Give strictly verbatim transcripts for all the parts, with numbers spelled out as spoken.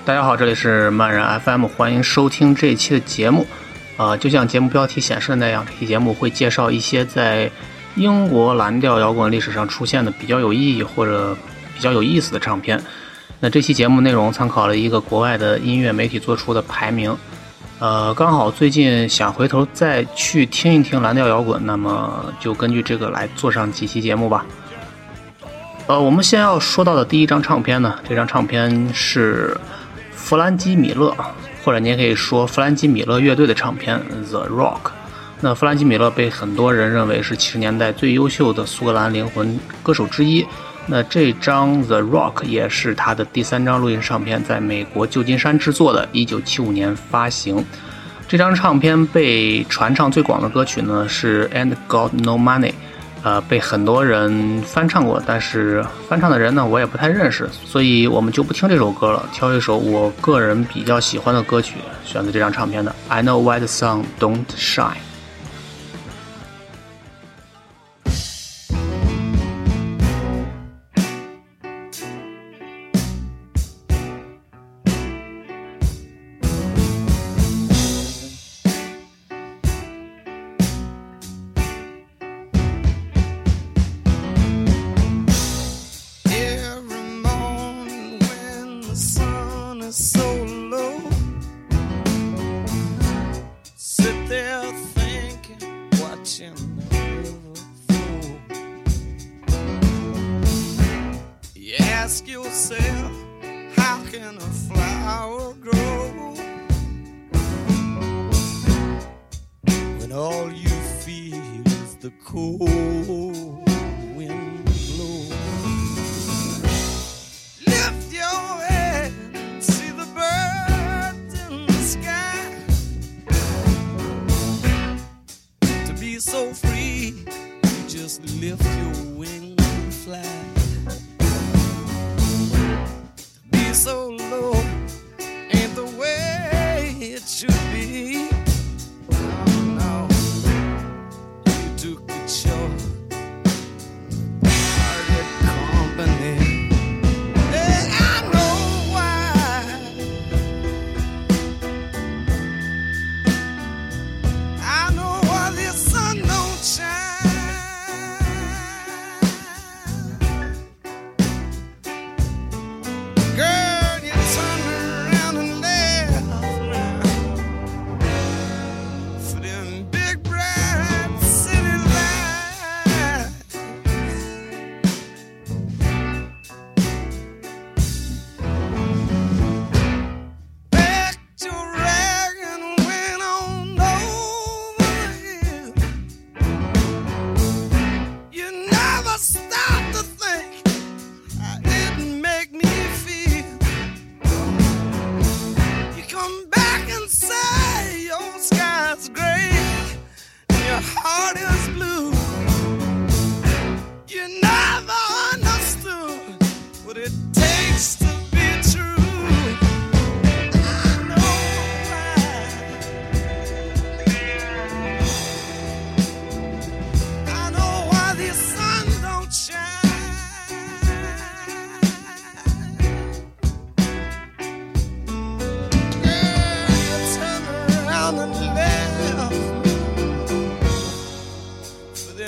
大家好，这里是漫然 F M， 欢迎收听这一期的节目。呃，就像节目标题显示的那样，这期节目会介绍一些在英国蓝调摇滚历史上出现的比较有意义或者比较有意思的唱片。那这期节目内容参考了一个国外的音乐媒体做出的排名。呃，刚好最近想回头再去听一听蓝调摇滚，那么就根据这个来做上几期节目吧。呃，我们先要说到的第一张唱片呢，这张唱片是弗兰基米勒，或者你也可以说弗兰基米勒乐队的唱片 The Rock。 那弗兰基米勒被很多人认为是七十年代最优秀的苏格兰灵魂歌手之一，那这张 The Rock 也是他的第三张录音唱片，在美国旧金山制作的，一九七五年发行。这张唱片被传唱最广的歌曲呢是 And Got No Money，呃，被很多人翻唱过，但是翻唱的人呢我也不太认识，所以我们就不听这首歌了，挑一首我个人比较喜欢的歌曲，选择这张唱片的 I Know Why the Sun Don't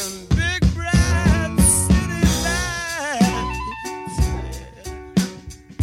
shine。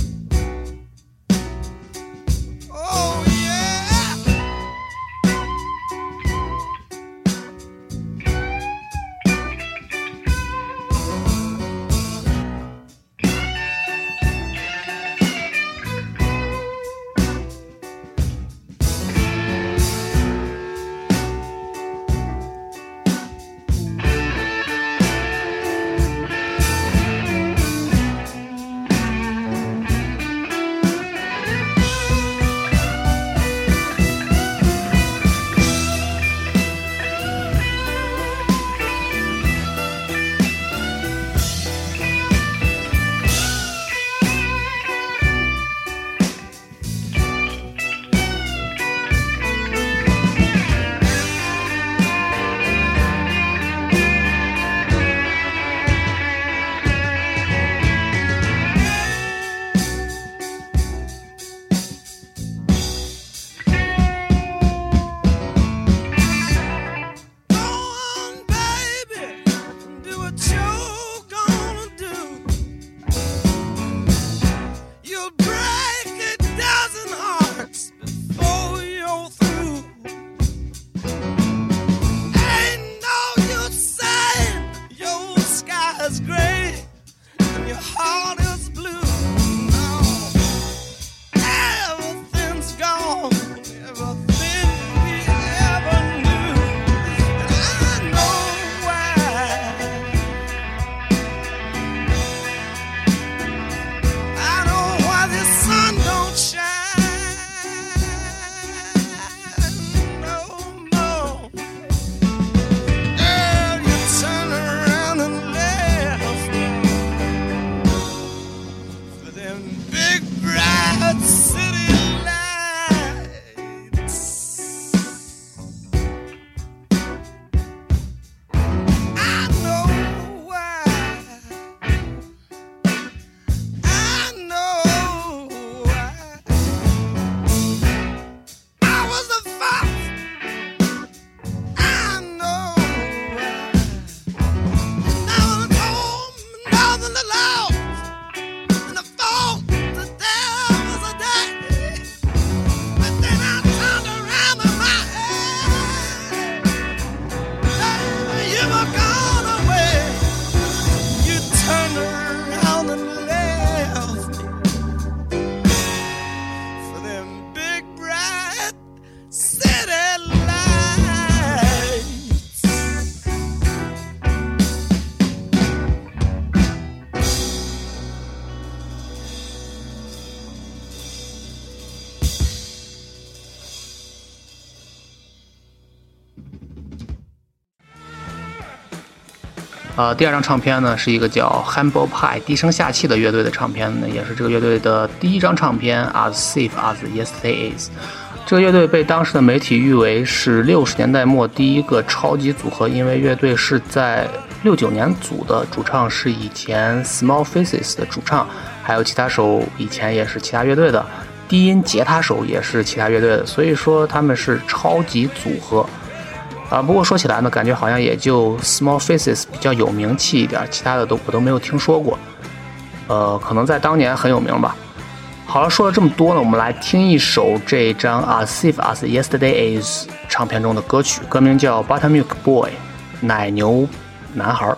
呃，第二张唱片呢是一个叫 Humble Pie 低声下气的乐队的唱片呢，也是这个乐队的第一张唱片 As Safe as Yesterday Is。这个乐队被当时的媒体誉为是六十年代末第一个超级组合，因为乐队是在六九年组的，主唱是以前 Small Faces 的主唱，还有吉他手以前也是其他乐队的，低音吉他手也是其他乐队的，所以说他们是超级组合。啊，不过说起来呢，感觉好像也就 Small Faces 比较有名气一点，其他的都我都没有听说过。呃，可能在当年很有名吧。好了，说了这么多呢，我们来听一首这张 As Safe as Yesterday Is 唱片中的歌曲，歌名叫 Buttermilk Boy 奶牛男孩。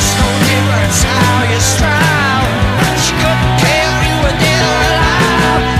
How you strive, she couldn't care if you were dead or alive.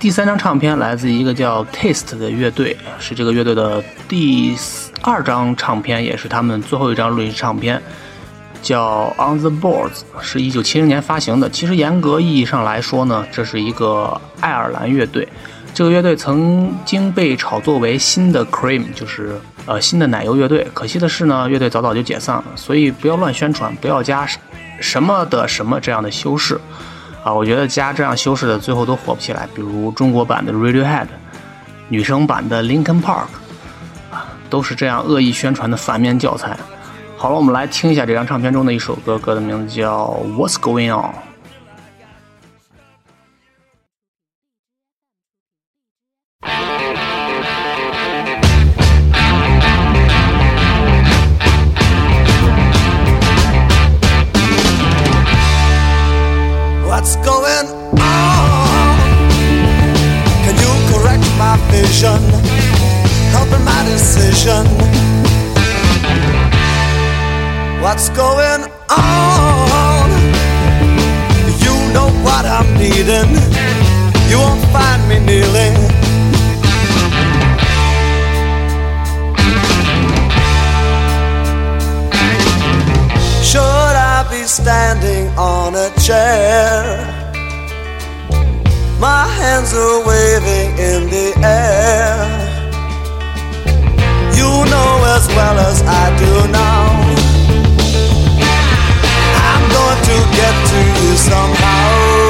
第三张唱片来自一个叫 Taste 的乐队，是这个乐队的第二张唱片，也是他们最后一张录音唱片，叫 On the Boards， 是一九七零年发行的。其实严格意义上来说呢，这是一个爱尔兰乐队。这个乐队曾经被炒作为新的 Cream， 就是呃新的奶油乐队。可惜的是呢，乐队早早就解散了，所以不要乱宣传，不要加什么的什么这样的修饰啊！我觉得加这样修饰的最后都火不起来，比如中国版的 Radiohead， 女生版的 Linkin Park， 啊，都是这样恶意宣传的反面教材。好了，我们来听一下这张唱片中的一首歌，歌的名字叫 What's Going On。What's going on? Can you correct my vision? Helping my decision. What's going on? You know what I'm needing. You won't find me kneeling. Should I be standing on a chair? My hands are waving in the air. You know as well as I do now, I'm going to get to you somehow.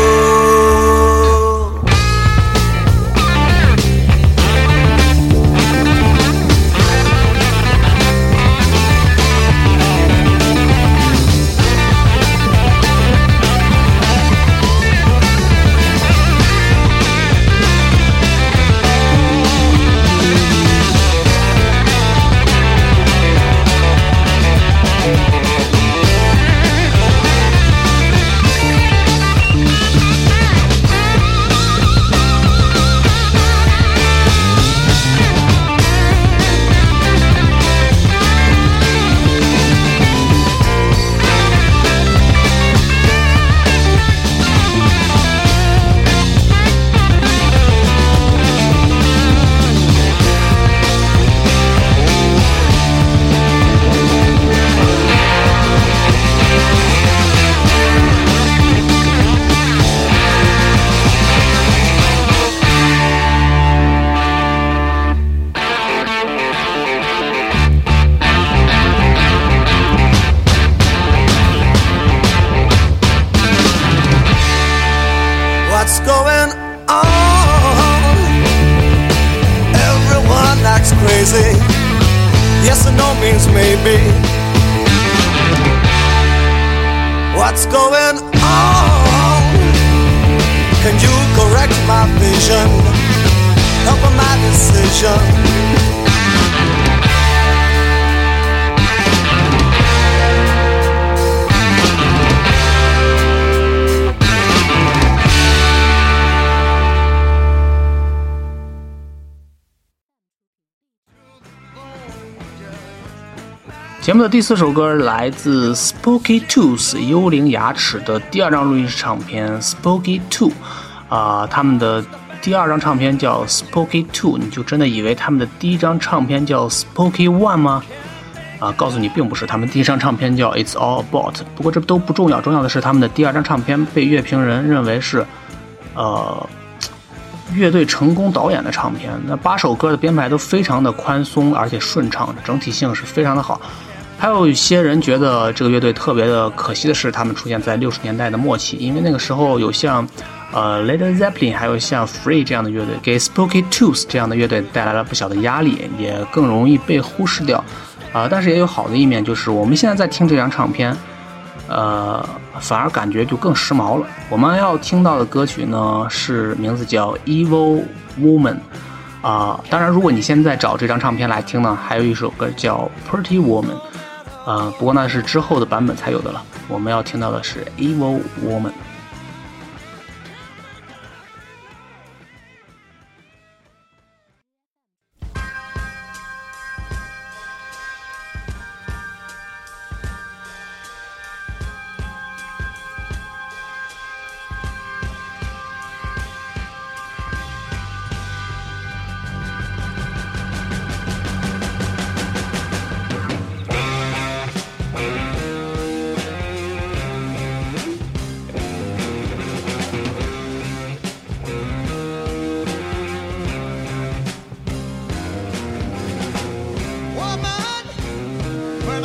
What's going on? Everyone acts crazy. Yes and no means maybe. What's going on? Can you correct my vision? Help my decision. 节目的第四首歌来自 Spooky Tooth 幽灵牙齿的第二张录音室唱片 Spooky Two， 啊、呃，他们的第二张唱片叫 Spooky Two， 你就真的以为他们的第一张唱片叫 Spooky One 吗？啊、呃，告诉你并不是，他们第一张唱片叫 It's All About。不过这都不重要，重要的是他们的第二张唱片被乐评人认为是，呃。乐队成功导演的唱片，那八首歌的编排都非常的宽松而且顺畅，整体性是非常的好。还有一些人觉得这个乐队特别的可惜的是，他们出现在六十年代的末期，因为那个时候有像呃 Led Zeppelin 还有像 Free 这样的乐队，给 Spooky Tooth 这样的乐队带来了不小的压力，也更容易被忽视掉。啊、呃，但是也有好的一面，就是我们现在在听这张唱片。呃，反而感觉就更时髦了。我们要听到的歌曲呢，是名字叫 Evil Woman 啊、呃。当然，如果你现在找这张唱片来听呢，还有一首歌叫 Pretty Woman 啊、呃，不过那是之后的版本才有的了。我们要听到的是 Evil Woman。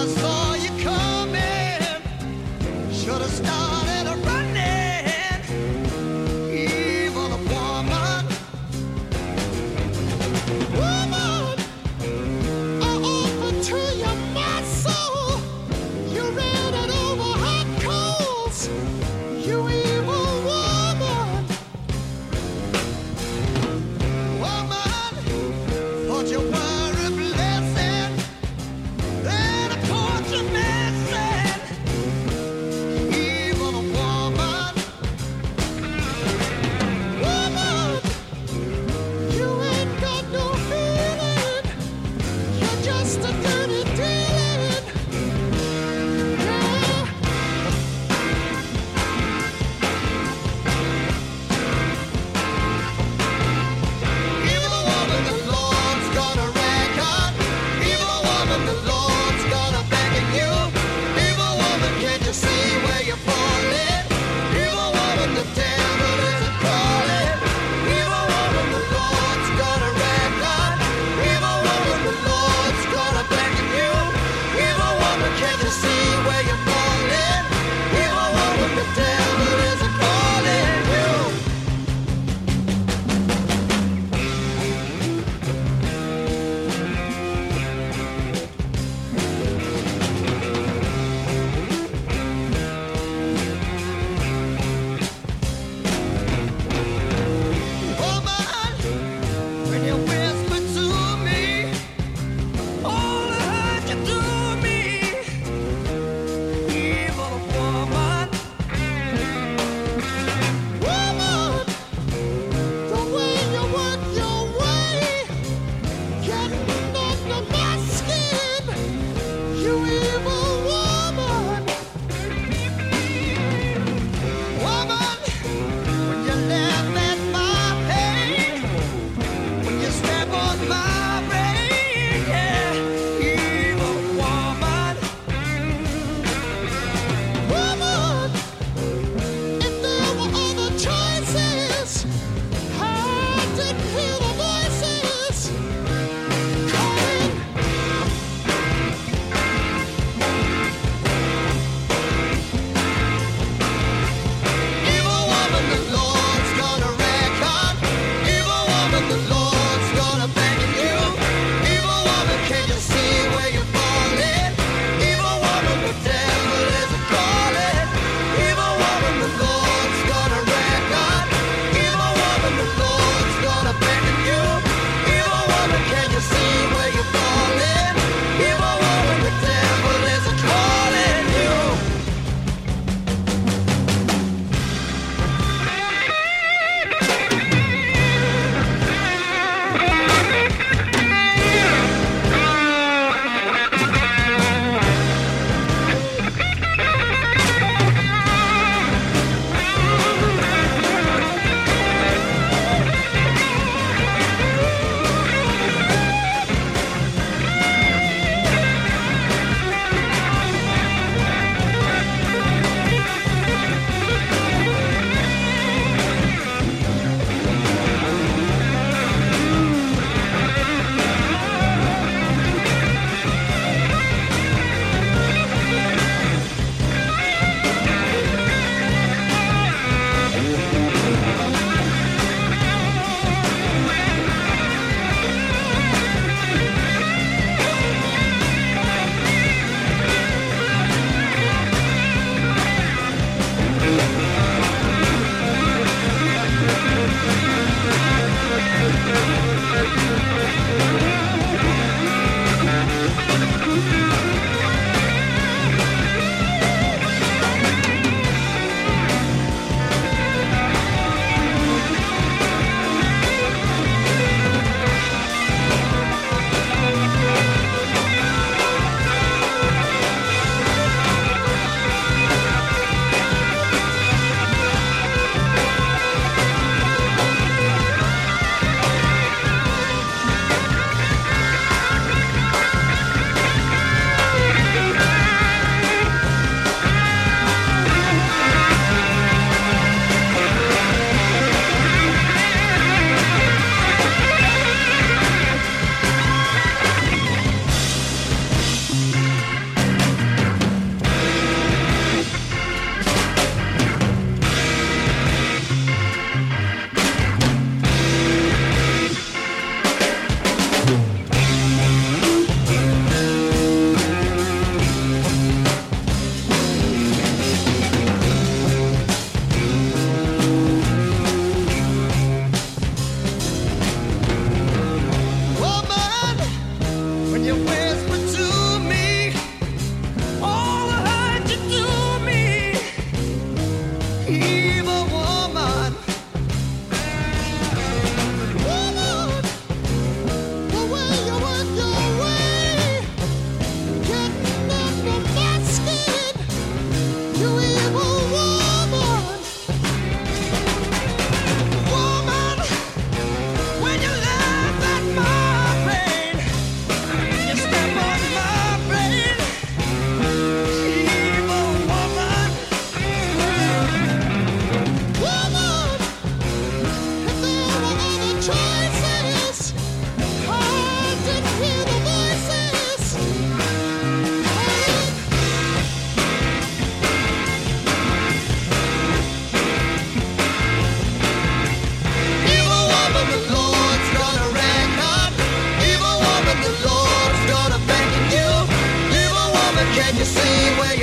saw you coming. Should have started running. Evil woman. Woman, I offer to you my soul. You ran it over hot coals. You evil woman. Woman, thought you were a blessing. Then I caught you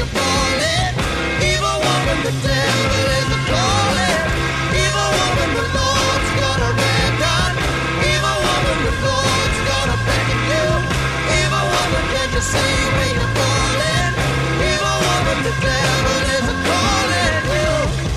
you're falling. Evil woman, the devil is a calling. Evil woman, the Lord's got a red gun. Evil woman, the Lord's got a beckon you. Evil woman, can't you see where you're falling? Evil woman, the devil is a calling you.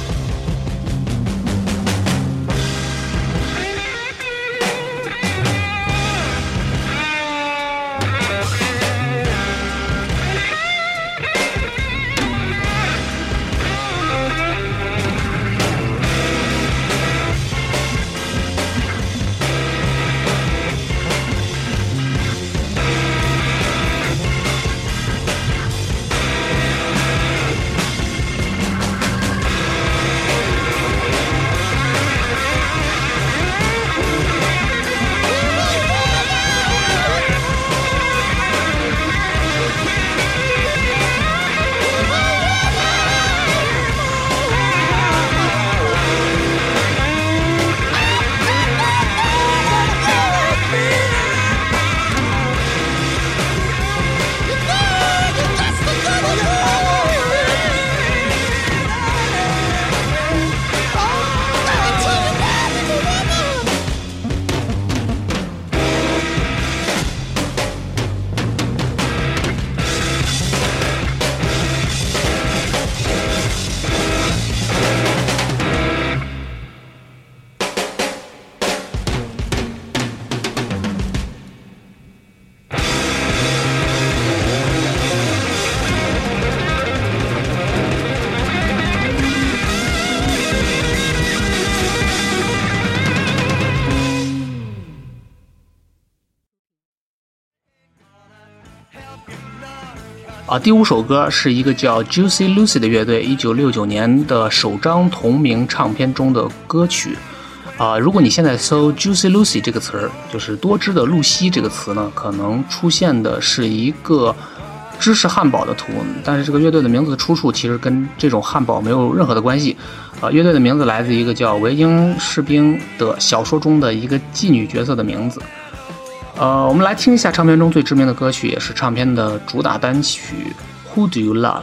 啊，第五首歌是一个叫 Juicy Lucy 的乐队一九六九年的首张同名唱片中的歌曲。啊，如果你现在搜 Juicy Lucy 这个词儿，就是多汁的露西这个词呢，可能出现的是一个芝士汉堡的图，但是这个乐队的名字的出处其实跟这种汉堡没有任何的关系。啊，乐队的名字来自一个叫维京士兵的小说中的一个妓女角色的名字。呃，我们来听一下唱片中最知名的歌曲，也是唱片的主打单曲 Who Do You Love。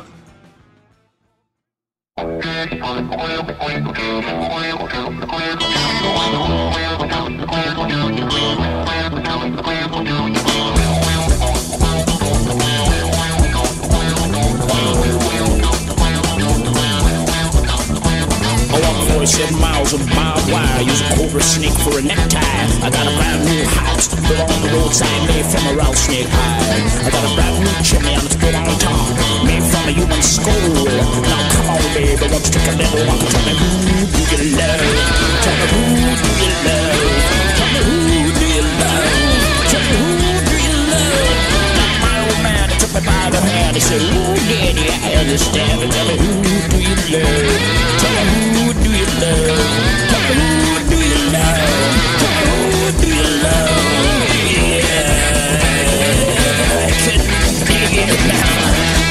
Seven miles of barbed wire, use a cobra snake for a necktie. I got a brand new house built on the roadside, made from a rattlesnake hide. I got a brand new chimney and it's built on top, made from a human skull. Now come on, baby, won't you take a little walk and tell me who do you love? Tell me who do you love? Tell me who do you love? Tell me who do you love? Now my old man, he took me by the hand, he said, ooh, daddy, I understand. Tell me who do you love? Tell me who do you love? Tell me who do you love? Tell me who do you love? Yeah, I couldn't dig it now.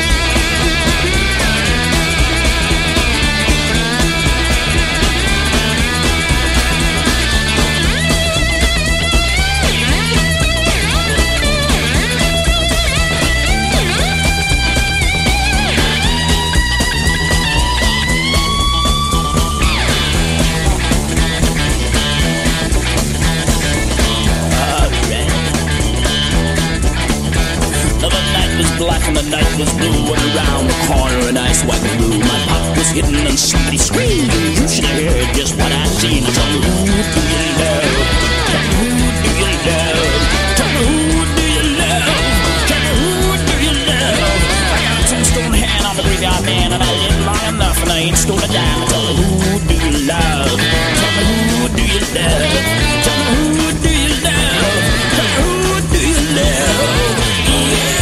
Black and the night was blue, and around the corner an ice white blue. My pop was hidden and somebody screamed. You should have heard just what I seen. Tell me who do you love? Tell me who do you love? Tell me who do you love? Tell me who do you love? I got a tombstone hand on the graveyard man, and I lived long enough, and I ain't stole a dime. Tell me who do you love? Tell me who do you love? Tell me who do you love? Tell me who do you love? Yeah.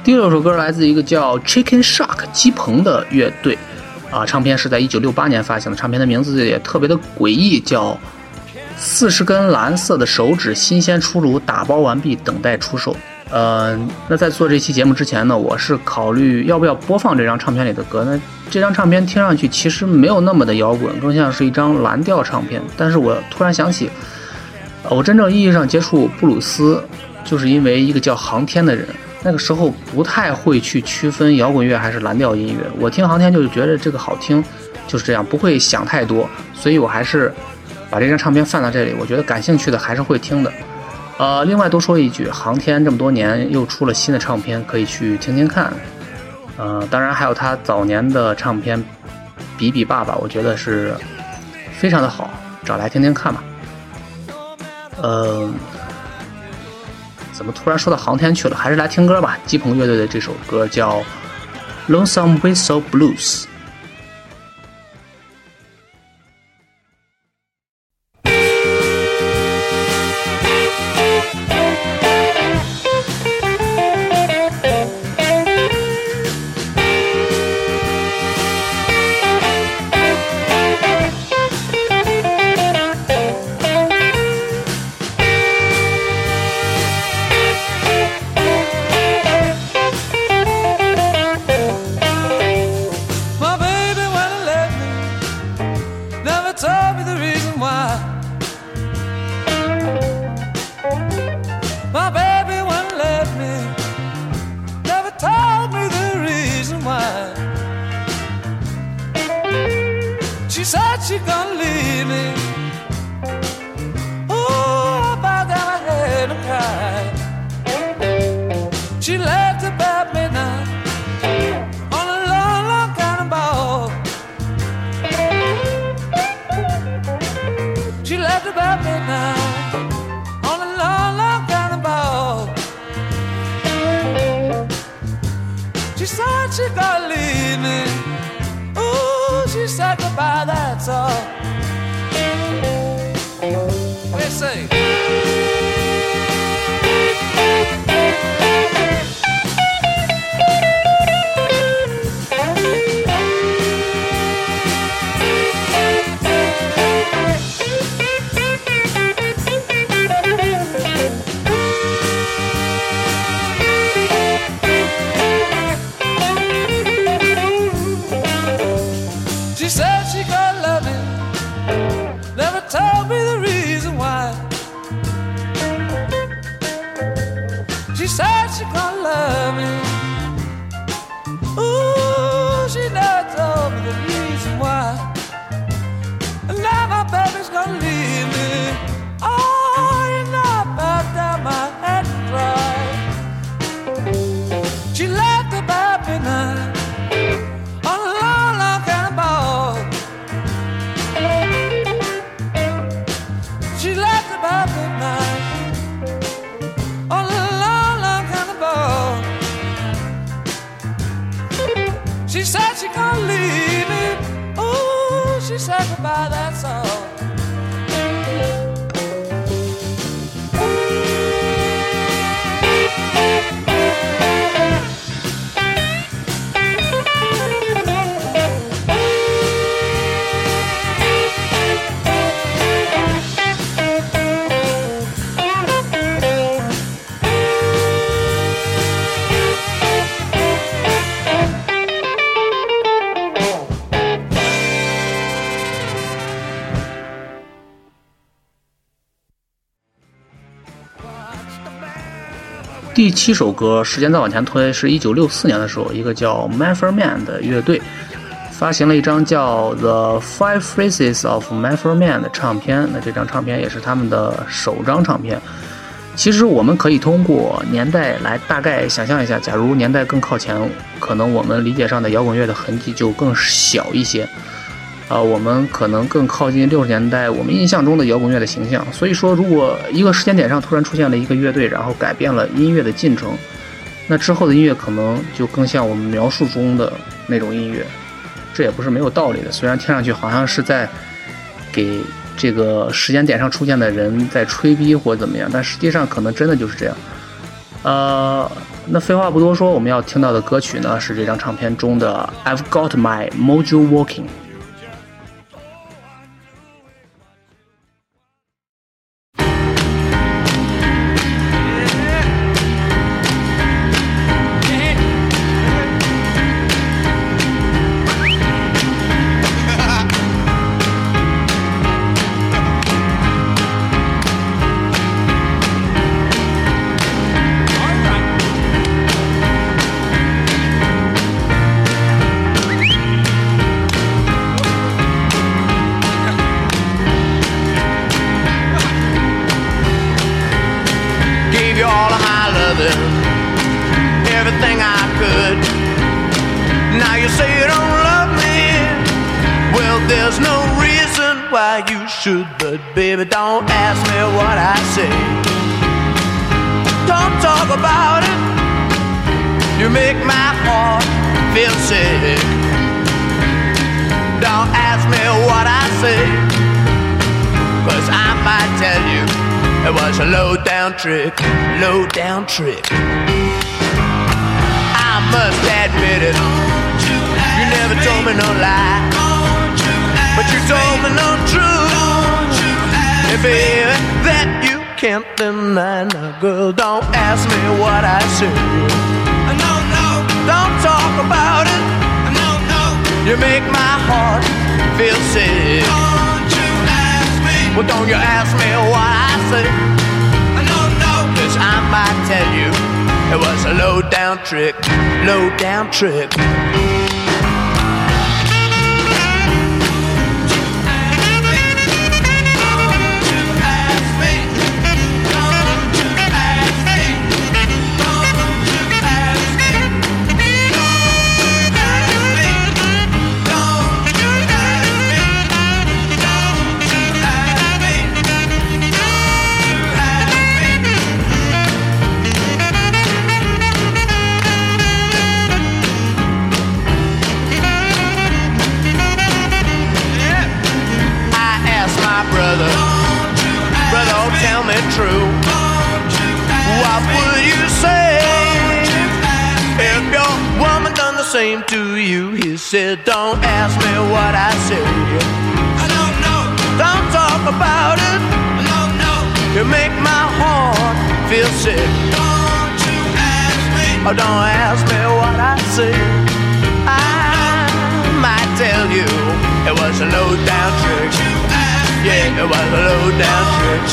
第六首歌来自一个叫 Chicken Shack 鸡棚的乐队，啊，唱片是在一九六八年发行的，唱片的名字也特别的诡异，叫四十根蓝色的手指，新鲜出炉，打包完毕，等待出售。呃，那在做这期节目之前呢，我是考虑要不要播放这张唱片里的歌。那这张唱片听上去其实没有那么的摇滚，更像是一张蓝调唱片。但是我突然想起，呃、我真正意义上接触布鲁斯，就是因为一个叫航天的人。那个时候不太会去区分摇滚乐还是蓝调音乐，我听航天就是觉得这个好听，就是这样，不会想太多，所以我还是把这张唱片放到这里，我觉得感兴趣的还是会听的。呃，另外多说一句，航天这么多年又出了新的唱片，可以去听听看。呃，当然还有他早年的唱片《比比爸爸》，我觉得是非常的好，找来听听看吧。呃。怎么突然说到航天去了？还是来听歌吧。鸡棚乐队的这首歌叫《Lonesome Whistle Blues》。 She said she gonna leave me. Oh, I bowed down my head and cried. She left about midnight on a long, long cannonball. She left about midnight on a long, long cannonball. She said she gonna leave me. She said goodbye, that's all. What do you say? Tell me the reason why. She said she gonna love me. Ooh, she never told me the reason why. And now my baby's gonna leave me. Oh, you know I bowed down my head and cried. She left about midnight on a long, long cannonball. She left about midnight on a long, long cannonball. She said she gonna leave me. Oh, she said goodbye, that's all. 第七首歌时间再往前推，是一九六四年的时候，一个叫 Manfred Mann 的乐队发行了一张叫 The Five Faces of Manfred Mann 的唱片。那这张唱片也是他们的首张唱片。其实我们可以通过年代来大概想象一下，假如年代更靠前，可能我们理解上的摇滚乐的痕迹就更小一些。呃，我们可能更靠近六十年代我们印象中的摇滚乐的形象。所以说，如果一个时间点上突然出现了一个乐队，然后改变了音乐的进程，那之后的音乐可能就更像我们描述中的那种音乐。这也不是没有道理的，虽然听上去好像是在给这个时间点上出现的人在吹逼或怎么样，但实际上可能真的就是这样。呃， 那废话不多说，我们要听到的歌曲呢是这张唱片中的 I've Got My Mojo Walking。 Everything I could. Now you say you don't love me. Well, there's no reason why you should, but baby, don't ask me what I say. Don't talk about it. You make my heart feel sick. Don't ask me what I say, 'cause I might tell you it was a low-down trick, low-down trick. I must admit it, you never told me no lie, but you told me no truth. And baby, that you can't deny. Now girl, don't ask me what I say. No, no. Don't talk about it. No, no. You make my heart feel sick. Don't you ask me. Well, don't you ask me what I say. No, no. 'Cause I might tell you it was a low-down trick, low-down trick. Tell me true. What would you say if your woman done the same to you? He said, don't ask me what I say. I don't know. Don't talk about it. No, no. You make my heart feel sick. Don't you ask me. Oh, don't ask me what I say. I might tell you it was a low-down trick. Yeah, it was a low-down trick.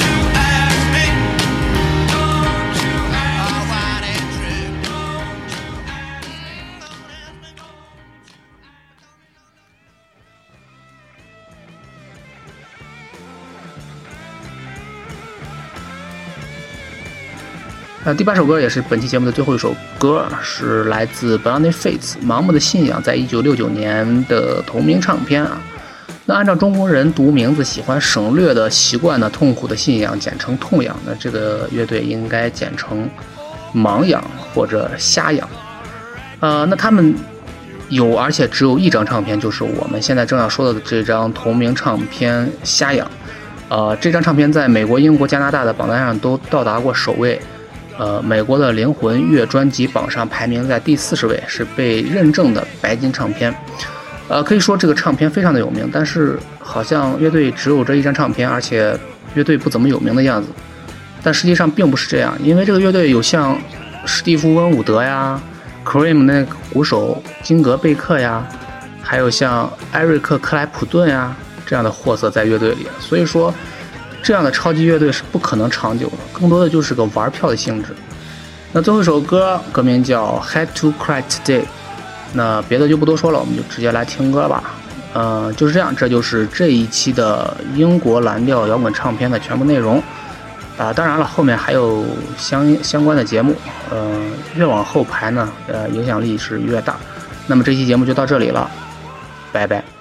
呃，第八首歌也是本期节目的最后一首歌，是来自 Blind Faith 盲目的信仰在一九六九年的同名唱片啊。那按照中国人读名字喜欢省略的习惯呢，痛苦的信仰简称痛仰，那这个乐队应该简称盲仰或者瞎仰。呃，那他们有而且只有一张唱片，就是我们现在正要说的这张同名唱片《瞎仰》。呃，这张唱片在美国、英国、加拿大的榜单上都到达过首位。呃，美国的灵魂乐专辑榜上排名在第四十位，是被认证的白金唱片。呃，可以说这个唱片非常的有名，但是好像乐队只有这一张唱片，而且乐队不怎么有名的样子。但实际上并不是这样，因为这个乐队有像史蒂夫·温伍德呀、Cream 那个鼓手金格贝克呀，还有像艾瑞克·克莱普顿呀这样的货色在乐队里，所以说这样的超级乐队是不可能长久的，更多的就是个玩票的性质。那最后一首歌歌名叫 Had to Cry Today， 那别的就不多说了，我们就直接来听歌吧。呃，就是这样，这就是这一期的英国蓝调摇滚唱片的全部内容啊、呃。当然了，后面还有相相关的节目，呃，越往后排呢，呃，影响力是越大。那么这期节目就到这里了，拜拜。